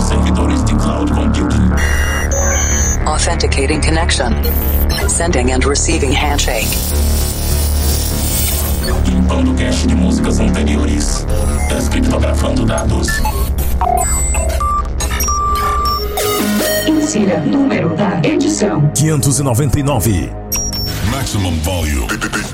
aos servidores de cloud computing. Authenticating connection. Sending and receiving handshake. Limpando cache de músicas anteriores. Descriptografando dados. Insira número da edição: 599. Maximum volume.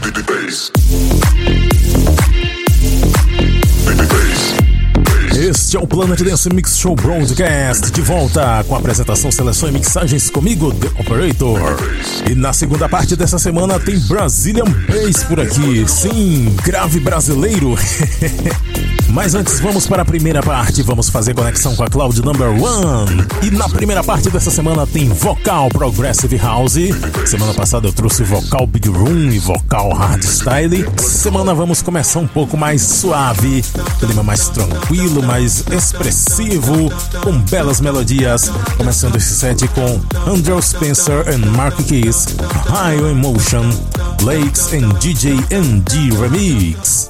Este é o Planet Dance Mix Show Broadcast, de volta com a apresentação, seleção e mixagens comigo, The Operator. E na segunda parte dessa semana tem Brazilian Bass por aqui, sim, grave brasileiro. Mas antes vamos para a primeira parte, vamos fazer conexão com a Cloud Number One. E na primeira parte dessa semana tem vocal Progressive House. Semana passada eu trouxe vocal Big Room e vocal Hardstyle. Semana vamos começar um pouco mais suave, clima mais tranquilo, mais expressivo, com belas melodias. Começando esse set com Andrew Spencer and Mark Keys, High Emotion, Lakes and DJ NG Remix.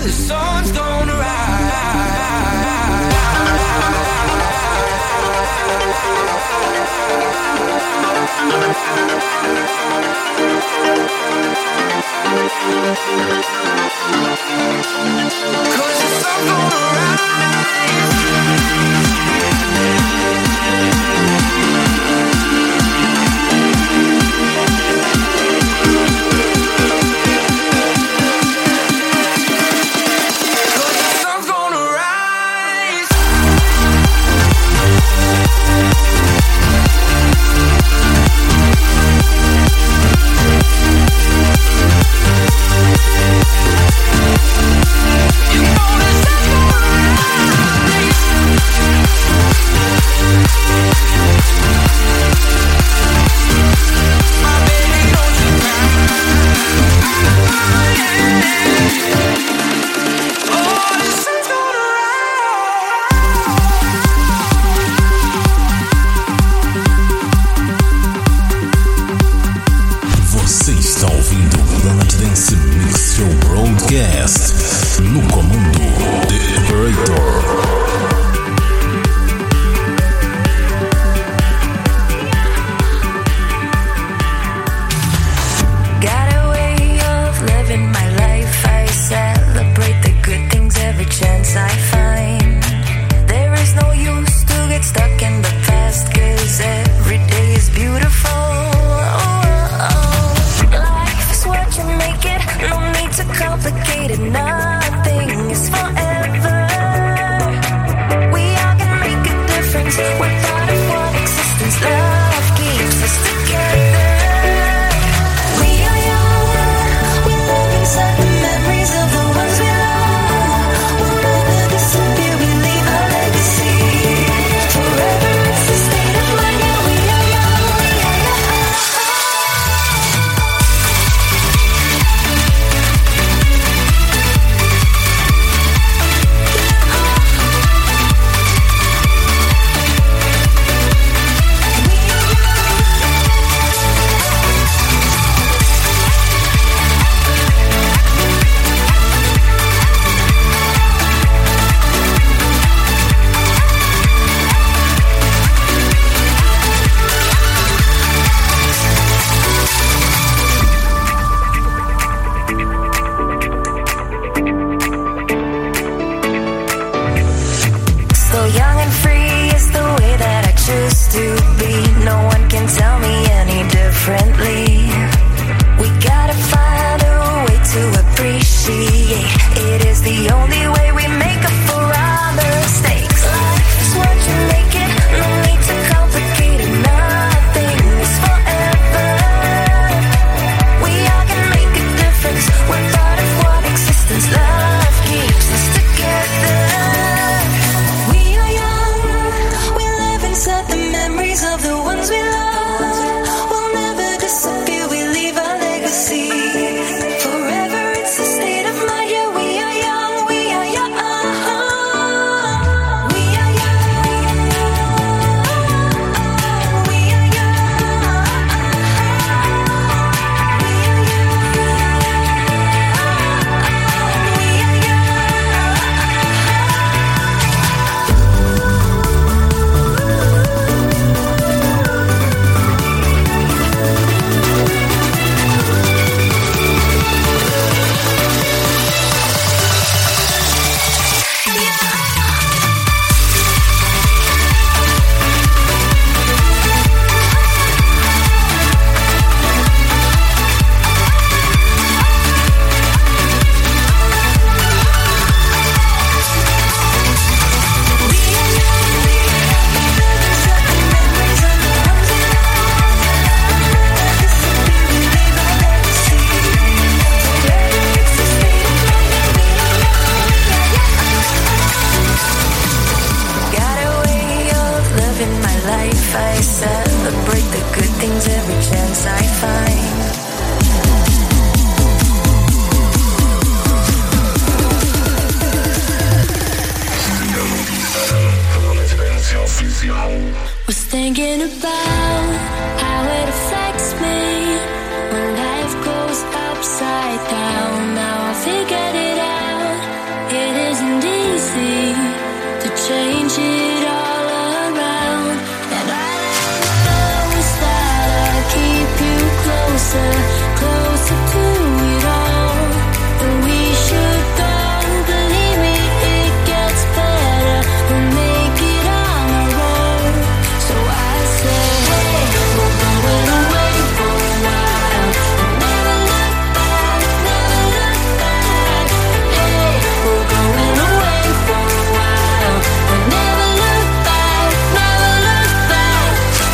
the sun's gonna cause the sun's gonna no comando The Operator. Got a way of living my life. I celebrate the good things every chance I find. There is no use to get stuck in the past, cause every day is beautiful. Life is what you make it, no need to complicate it. Nothing is forever. We all can make a difference. We're part of one existence. Love keeps us together. We are young, we live inside the memories of the ones we love. We'll never disappear, we leave a legacy. Forever it's the state of mind. Yeah, we are young, we are young. So young and free is the way that I choose to be. No one can tell me any differently. We gotta find a way to appreciate. It is the only way we make up for our mistakes. Life is what you make it, no need to complicate it. Nothing is forever. We all can make a difference. We're part of one existence. Love keeps us together. We are young, we live inside the memories of the ones we love. We'll never disappear, we leave a legacy. Forever it's a state of mind. Yeah, we are young, we change it all around. And I promise that I'll keep you closer, closer to it all. And we should go, believe me, it gets better. We'll make it on our own. So I say, hey, we're going away for a while. And never look back, never look back. Hey, we're going away for a while. And never look back, never look back.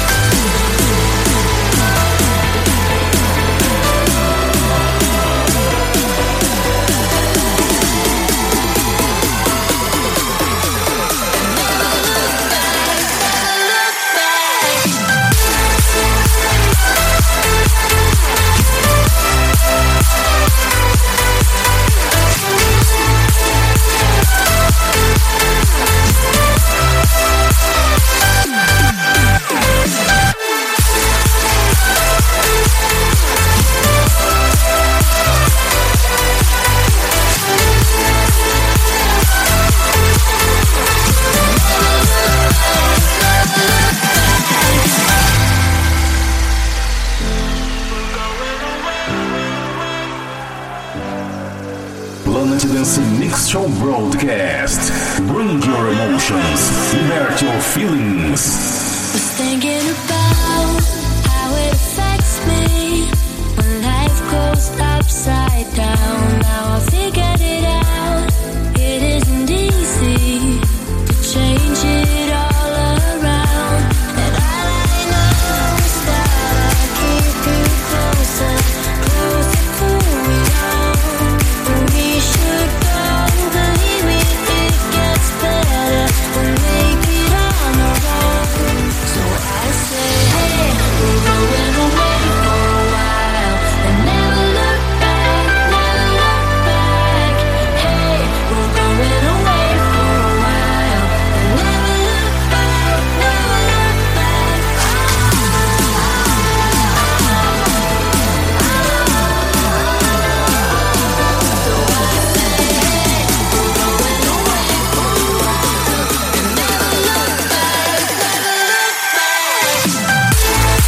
Planet Dance Mix Show Broadcast. Bring your emotions, invert your feelings. Was thinking about how it affects me when life goes upside down. Now I figured it out. It isn't easy to change it all around. And all I know is that I'll keep you closer, closer to it all. And we should go, believe me, it gets better. We'll make it on our own. So I say, hey, we're going away for a while. And never look back, never look back. Hey, we're going away for a while. And never look back, never look back. So I say, hey, we're going away for a while. And never look back, never look back.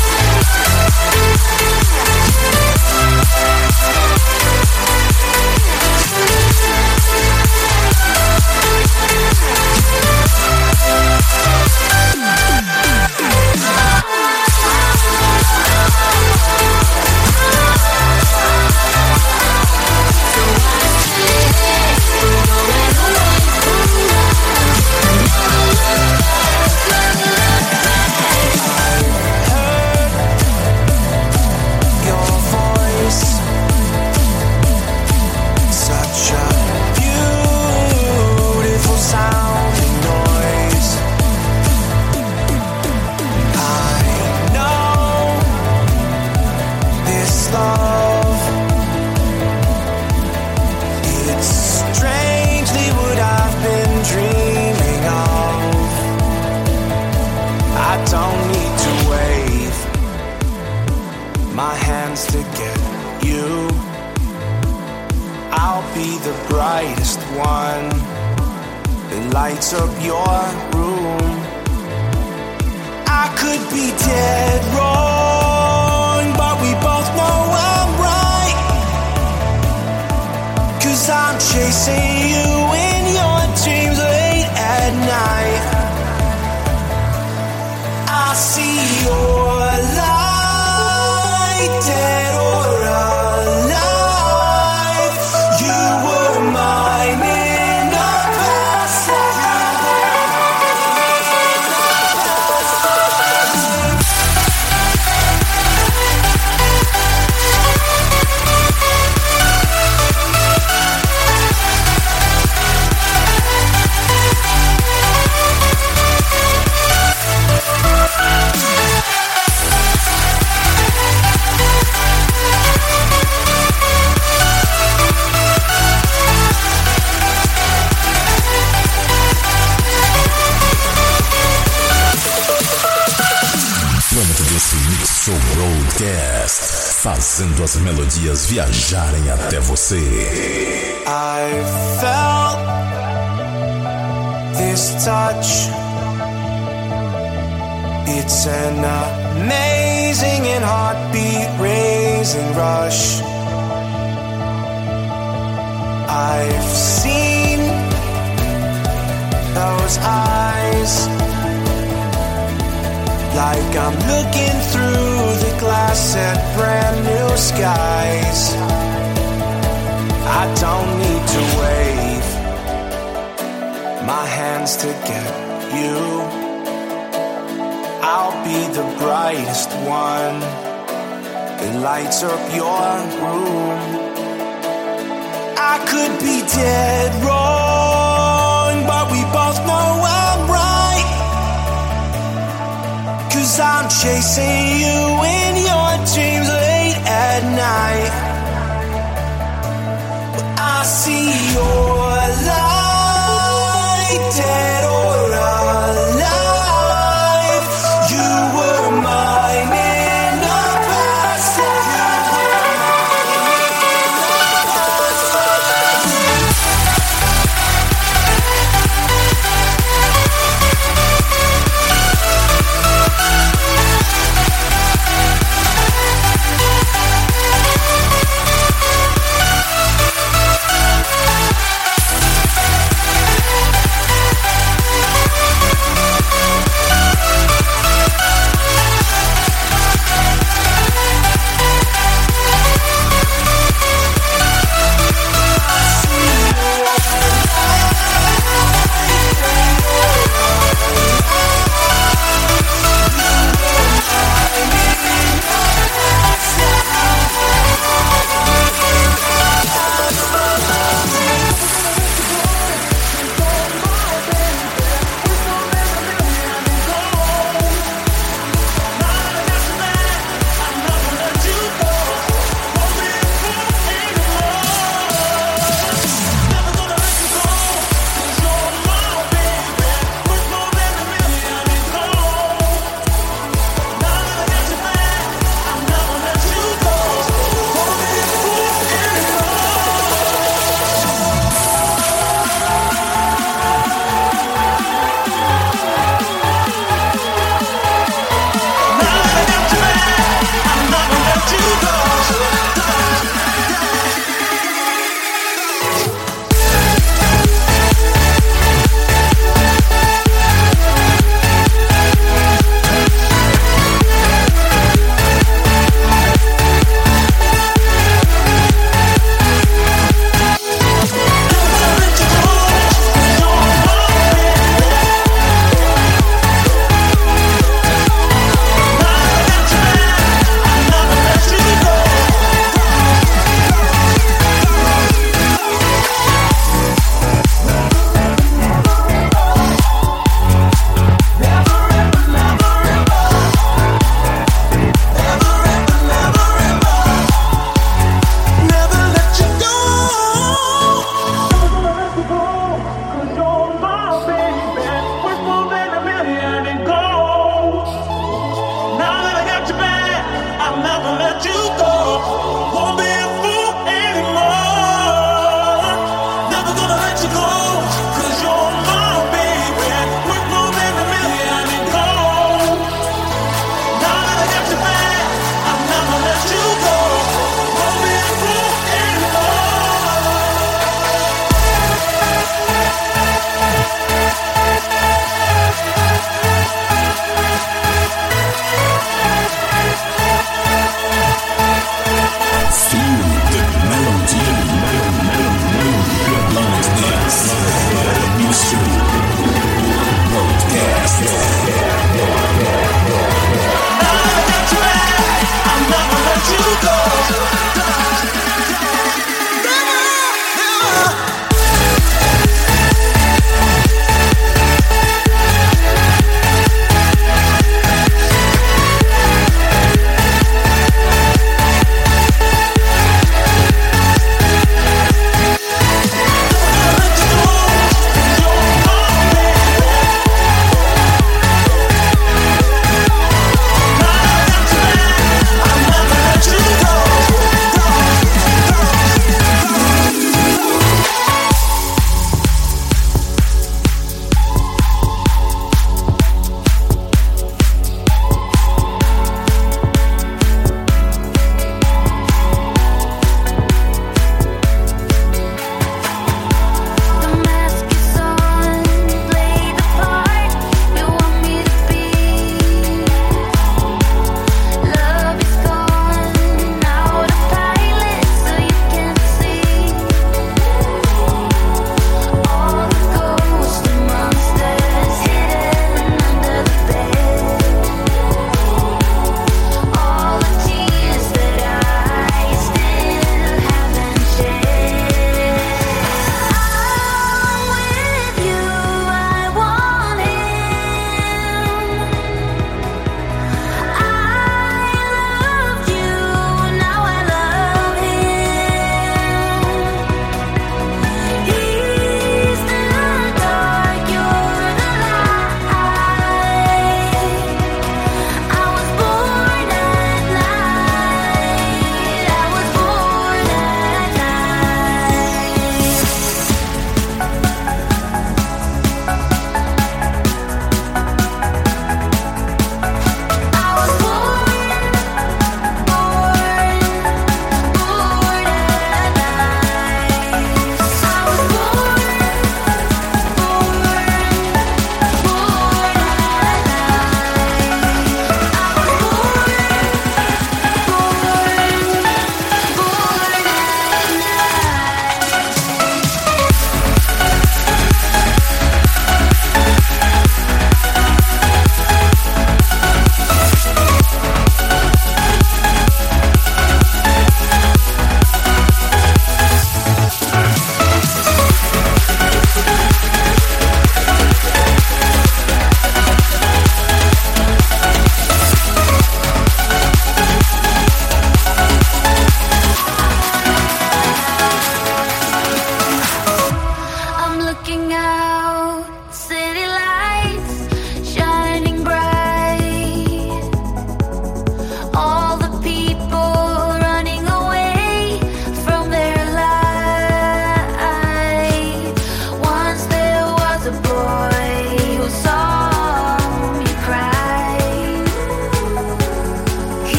Your voice, such a beautiful sounding noise. I know this love, it's strangely what I've been dreaming of. I don't need to wave my hands to get you. I'll be the brightest one that lights up your room. I could be dead wrong, but we both know I'm right. 'Cause I'm chasing you in your dreams late at night. I see your light, dead or alive. You were mine in the past. Planet Dance Mix Show Broadcast. Fazendo as melodias viajarem até você. I felt this his touch. It's an amazing and heartbeat-raising rush. I've seen those eyes, like I'm looking through the glass at brand new skies. I don't need to wave my hands to get you. I'll be the brightest one that lights up your room. I could be dead wrong, but we both know I'm right. 'Cause I'm chasing you in your dreams late at night. But I see your light, dead or alive. You were mine in the past.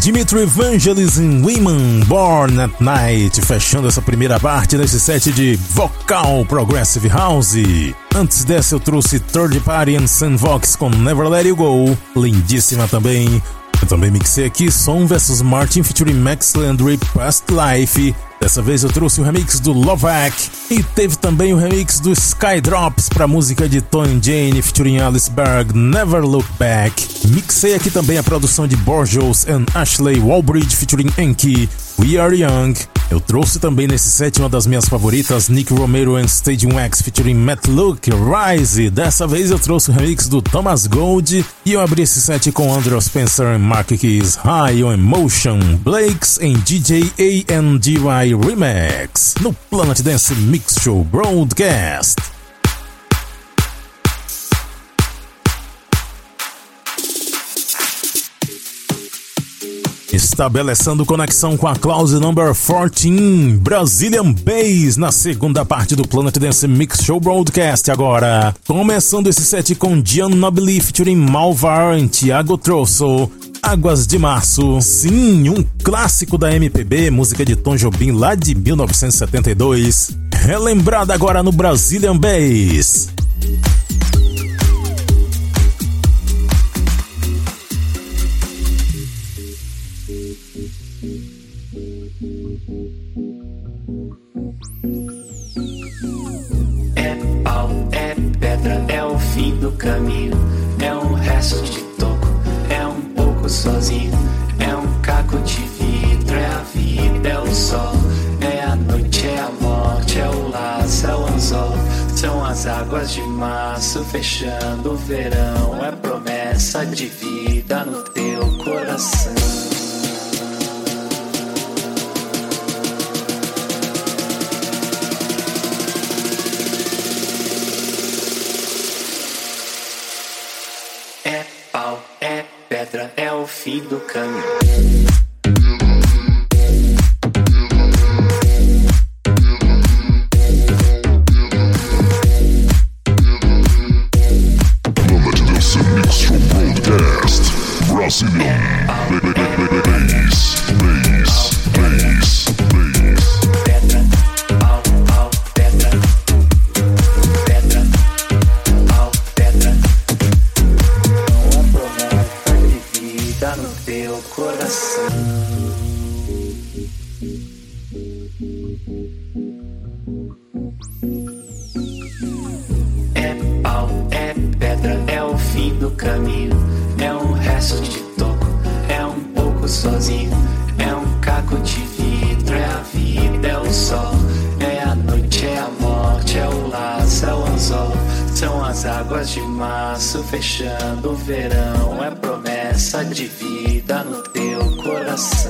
Dimitri Vangelis em Women Born at Night, fechando essa primeira parte desse set de vocal Progressive House. Antes dessa eu trouxe Third Party and Sun Vox com Never Let You Go, lindíssima também. Eu também mixei aqui Som vs Martin featuring Max Landry, Past Life. Dessa vez eu trouxe o remix do Lovac e teve também o remix do Skydrops para a música de Tony Jane featuring Alice Berg, Never Look Back. Mixei aqui também a produção de Borjos and Ashley Walbridge featuring Enki, We Are Young. Eu trouxe também nesse set uma das minhas favoritas, Nick Romero and Stadium X featuring Matt Luke, Rise. Dessa vez eu trouxe o remix do Thomas Gold e eu abri esse set com Andrew Spencer e Mark Keys, High on Emotion, Blakes em DJ A&GY Remix, no Planet Dance Mix Show Broadcast. Estabelecendo conexão com a Cloud Number 14, Brazilian Bass, na segunda parte do Planet Dance Mix Show Broadcast agora. Começando esse set com Gian Nobili featuring Malvar e Thiago Trosso, Águas de Março. Sim, um clássico da MPB, música de Tom Jobim lá de 1972, relembrada agora no Brazilian Bass. É pau, é pedra, é o fim do caminho, é um resto de toco, é um pouco sozinho, é um caco de vidro, é a vida, é o sol, é a noite, é a morte, é o laço, é o anzol, são as águas de março fechando o verão, é promessa de vida no teu coração. É o fim do caminho. Fechando o verão, é promessa de vida no teu coração.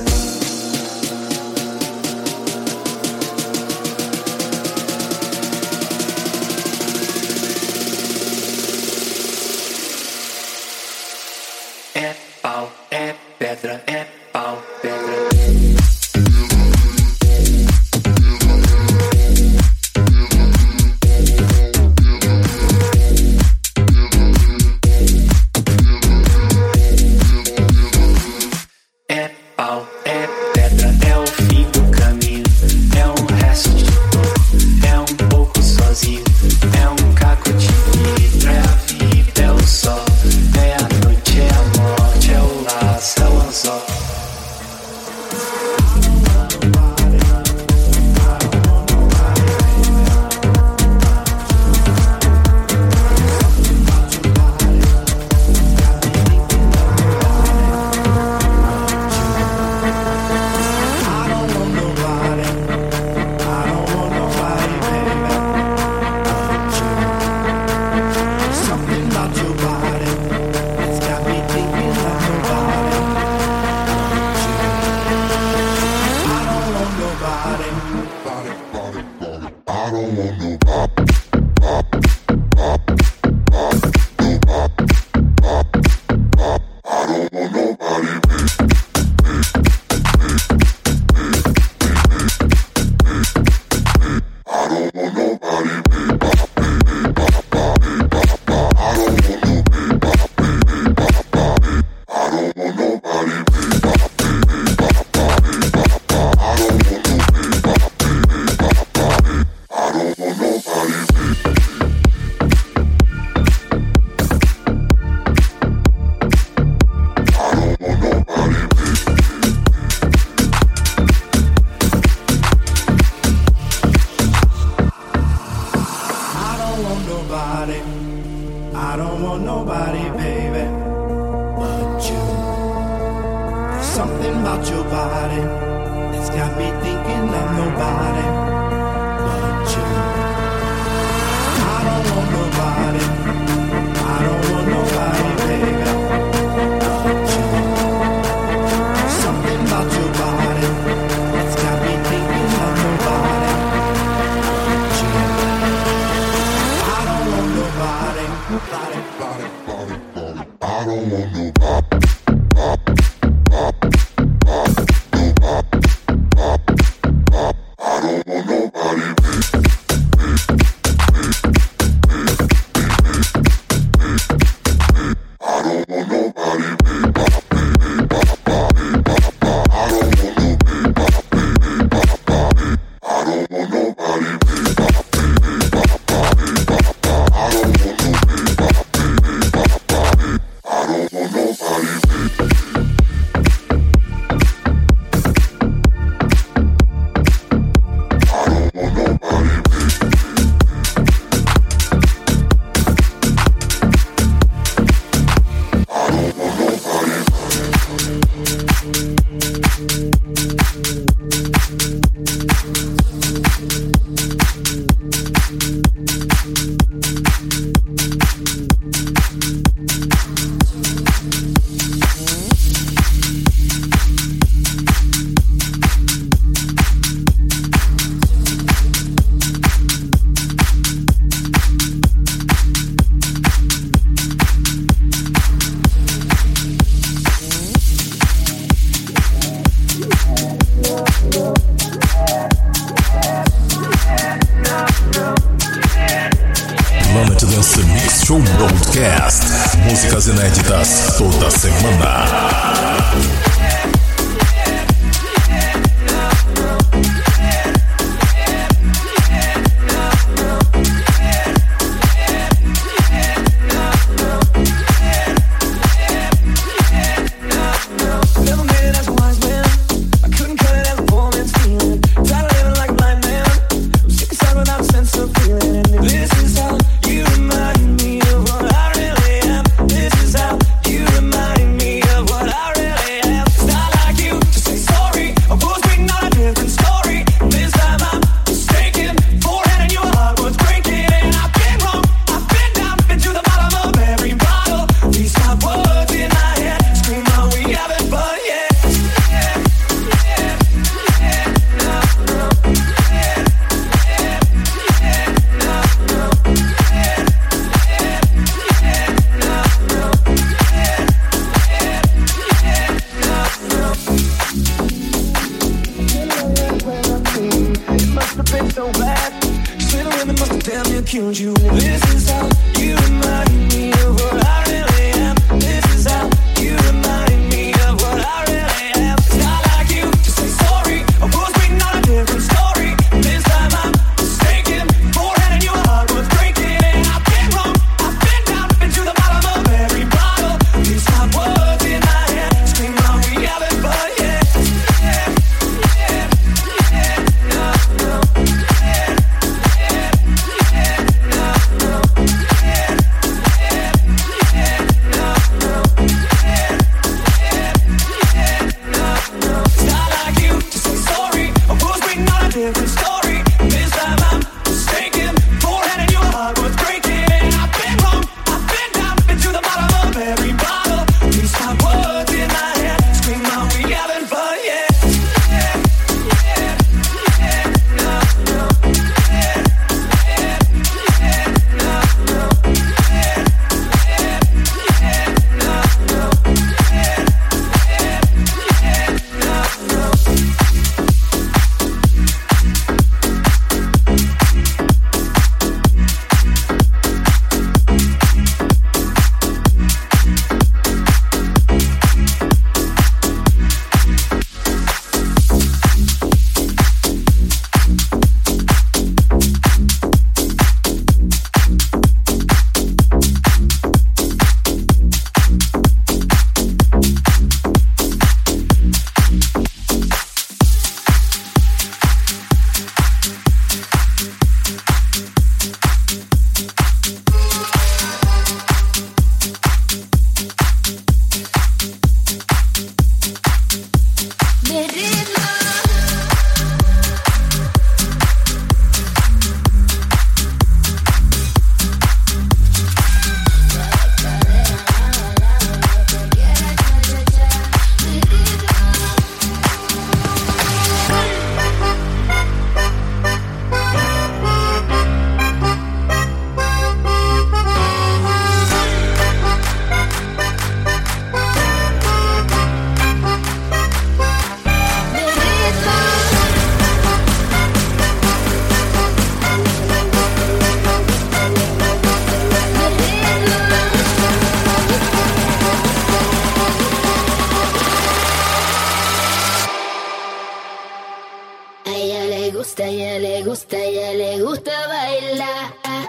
É pau, é pedra, é pau, pedra. Something about your body, it's got me thinking of nobody but you. I don't want nobody, I don't want nobody, baby, but you. Something about your body, it's got me thinking of nobody but you. I don't want nobody, I don't want nobody. Show Broadcast. Músicas inéditas toda semana. gusta bailar.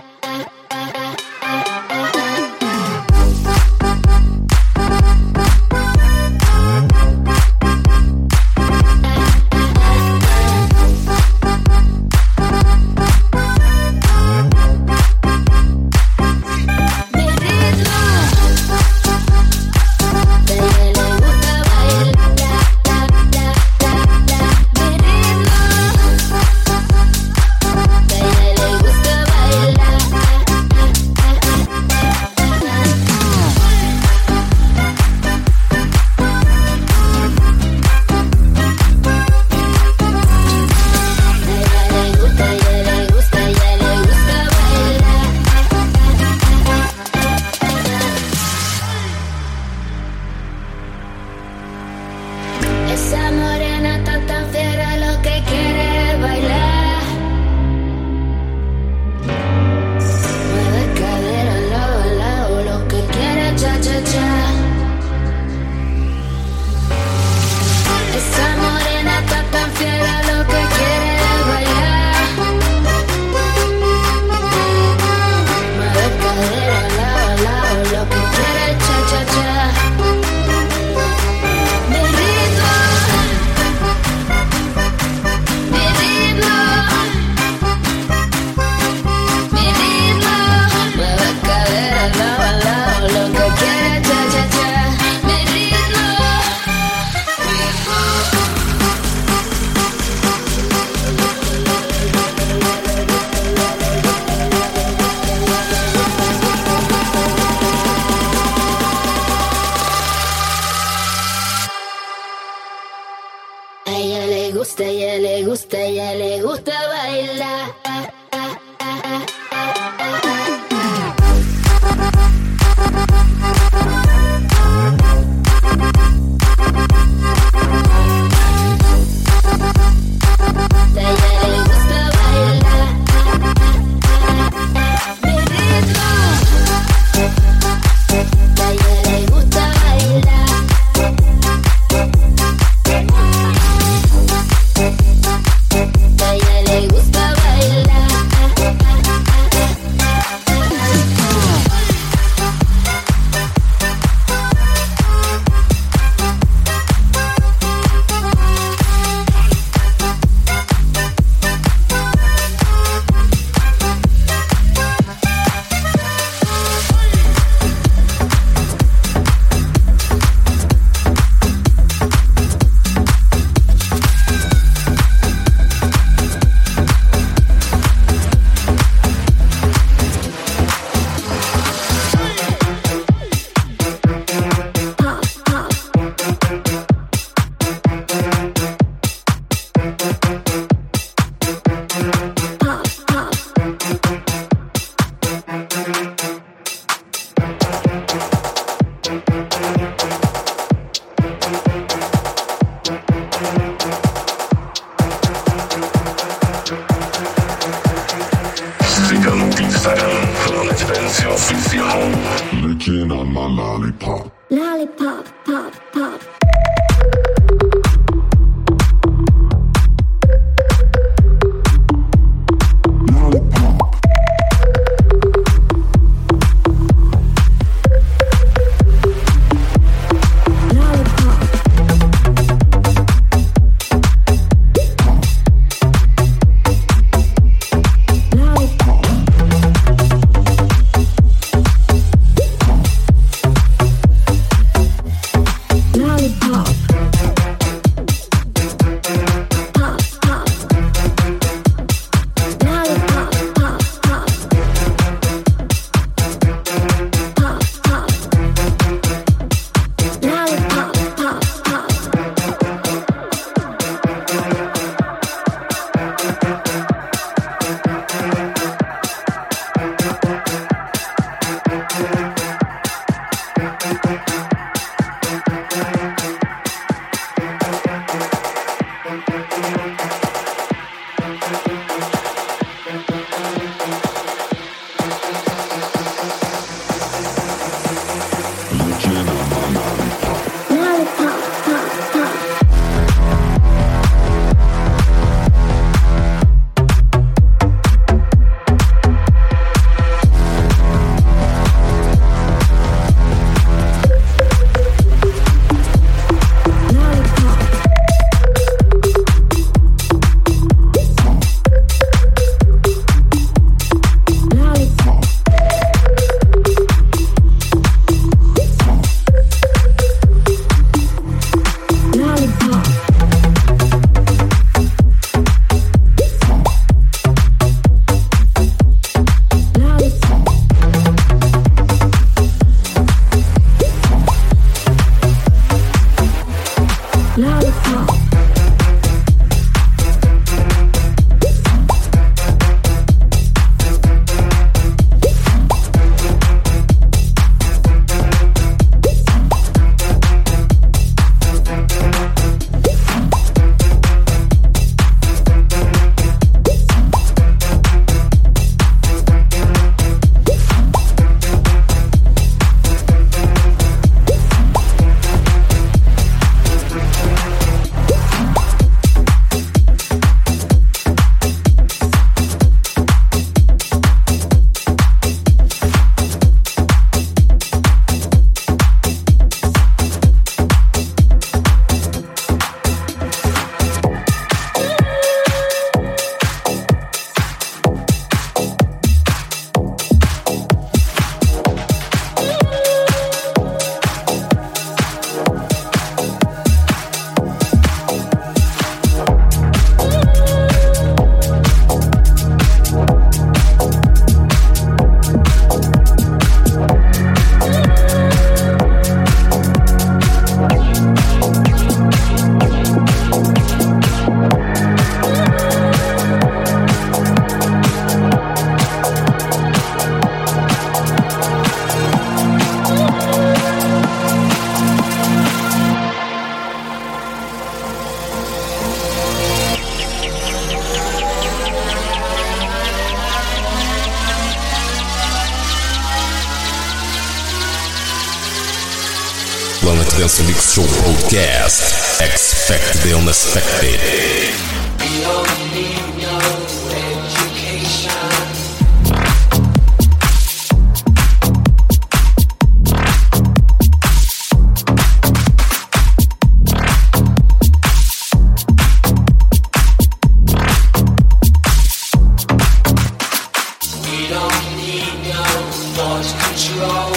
Ella le gusta bailar. Licking on my lollipop. Lollipop, pop, pop. lollipop. Planet Dance Mix Show Broadcast. Expect the unexpected. We don't need no education. We don't need no thought control.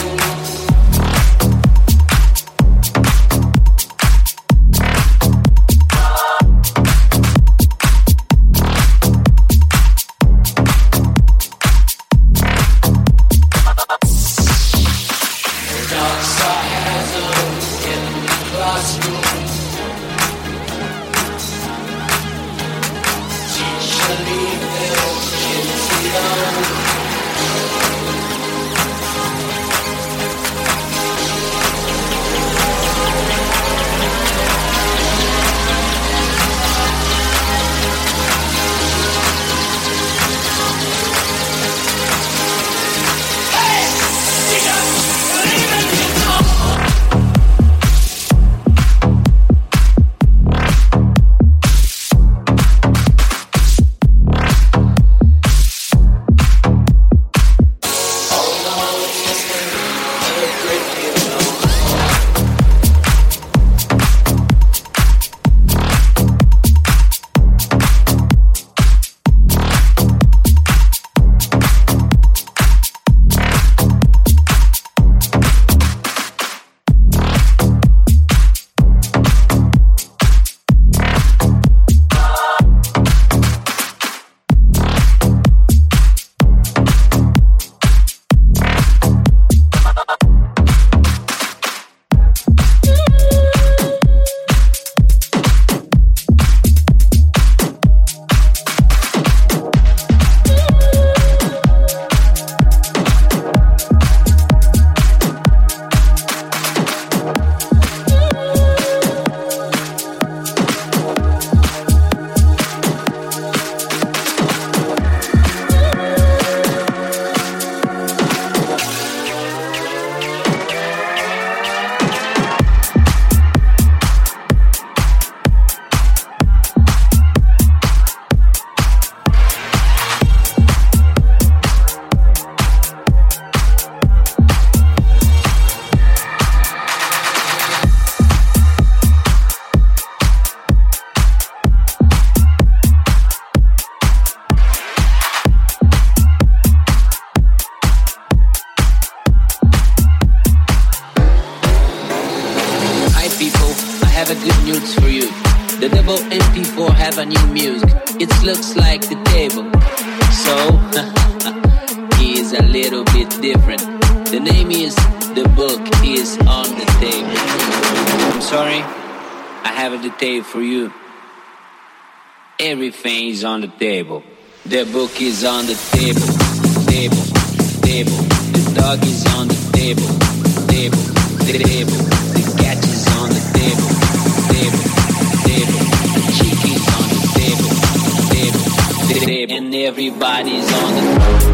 have a good news for you. The double MP4 have a new music. It looks like the table, so is a little bit different. The name is The Book is on the Table. I'm sorry, I have a detail for you. Everything is on the table. The book is on the table, table, table. The dog is on the table, table, table. The cat is on the table, table, table. The chicken is on the table, table, table. And everybody's on the table.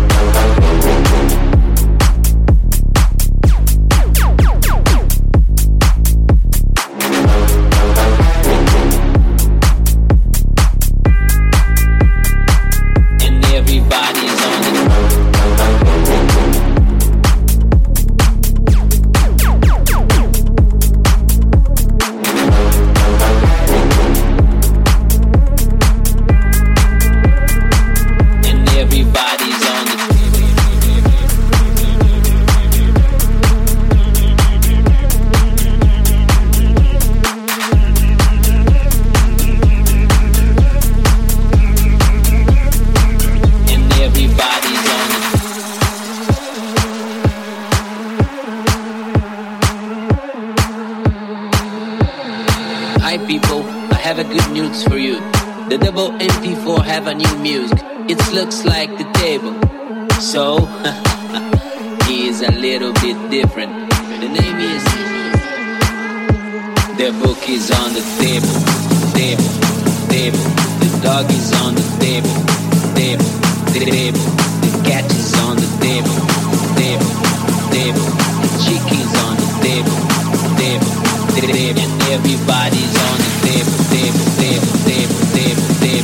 The double MP4 have a new music. It looks like the table. So, he is a little bit different. The name is... The book is on the table, table, table. The dog is on the table, table, table. The cat is on the table, table, table. The chicken is on the table, table, table. And everybody's on the table, table, table, table, table.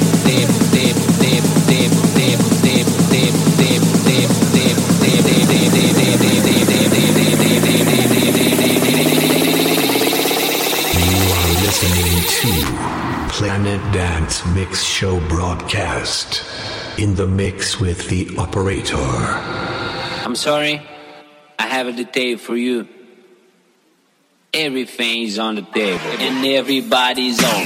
Listening to Planet Dance Mix Show broadcast in the mix with the operator. I'm sorry, I have a detail for you. Everything is on the table and everybody's on.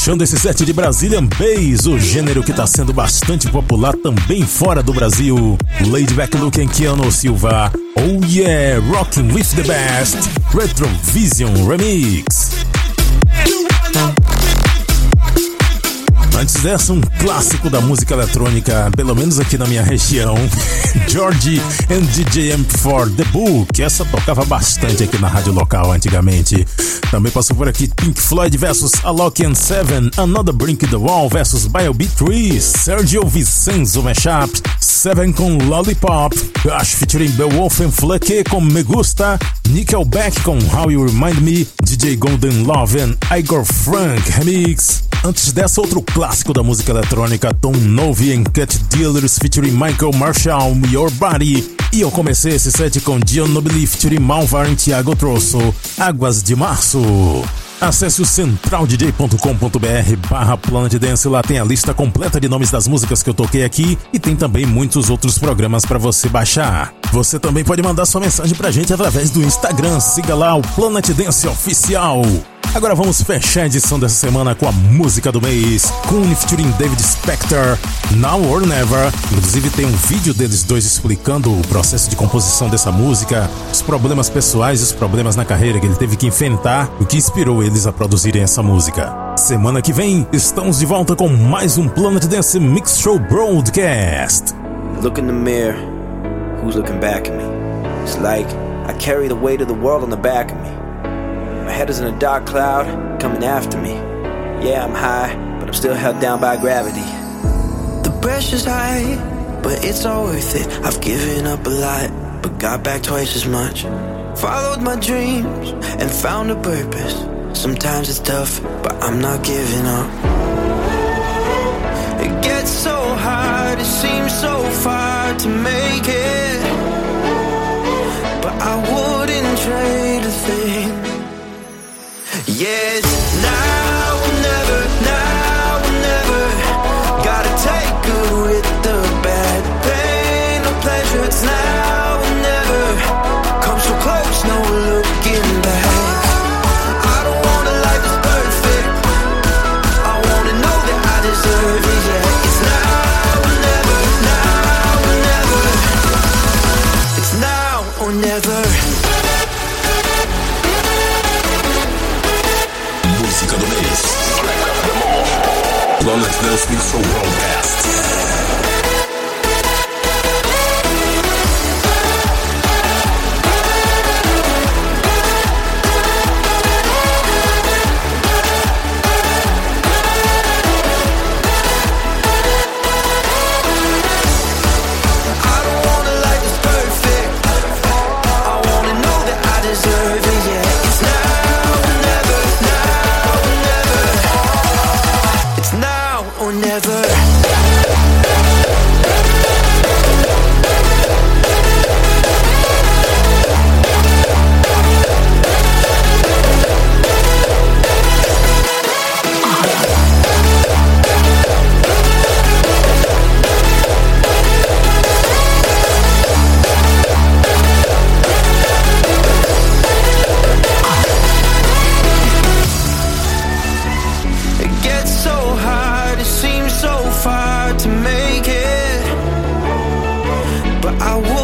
Fechando esse set de Brazilian Bass, o gênero que tá sendo bastante popular também fora do Brasil. Laid Back Luke and Keanu Silva. Oh yeah, Rocking with the Best. Retrovision Remix. Antes dessa, um clássico da música eletrônica, pelo menos aqui na minha região. George and DJ MP4, The Book. Essa tocava bastante aqui na rádio local antigamente. Também passou por aqui Pink Floyd vs Alok and Seven, Another Brink the Wall vs BioB3, Sergio Vicenzo Mashup, Seven com Lollipop, Gush featuring Beowulf and Fleck com Me Gusta, Nickelback com How You Remind Me, DJ Golden Love and Igor Frank Remix. Antes dessa, outro clássico da música eletrônica, Tom Novi and Cat Dealers featuring Michael Marshall, Your Body. E eu comecei esse set com Dion Nobili featuring Malvar e Thiago Trosso, Águas de Março. Acesse o centraldj.com.br/Planet Dance, lá tem a lista completa de nomes das músicas que eu toquei aqui e tem também muitos outros programas para você baixar. Você também pode mandar sua mensagem pra gente através do Instagram, siga lá o Planet Dance Oficial. Agora vamos fechar a edição dessa semana com a música do mês, Koone featuring David Spector, Now or Never. Inclusive tem um vídeo deles dois explicando o processo de composição dessa música, os problemas pessoais e os problemas na carreira que ele teve que enfrentar, o que inspirou eles a produzirem essa música. Semana que vem, estamos de volta com mais um Planet Dance Mix Show Broadcast. Look in the mirror, who's looking back at me? It's like I carry the weight of the world on the back of me. My head is in a dark cloud, coming after me. Yeah, I'm high, but I'm still held down by gravity. The pressure's high, but it's all worth it. I've given up a lot, but got back twice as much. Followed my dreams and found a purpose. Sometimes it's tough, but I'm not giving up. It gets so hard, it seems so far to make it, but I wouldn't trade a thing. Yes, now or never, now or never. Gotta take good with the bad, pain or pleasure. It's now or never. Come so close, no looking back. I don't want a life that's perfect. I wanna know that I deserve it. Yeah, it's now or never, now or never. It's now or never. Música do mês. Planet Dance Mix Show Broadcast. I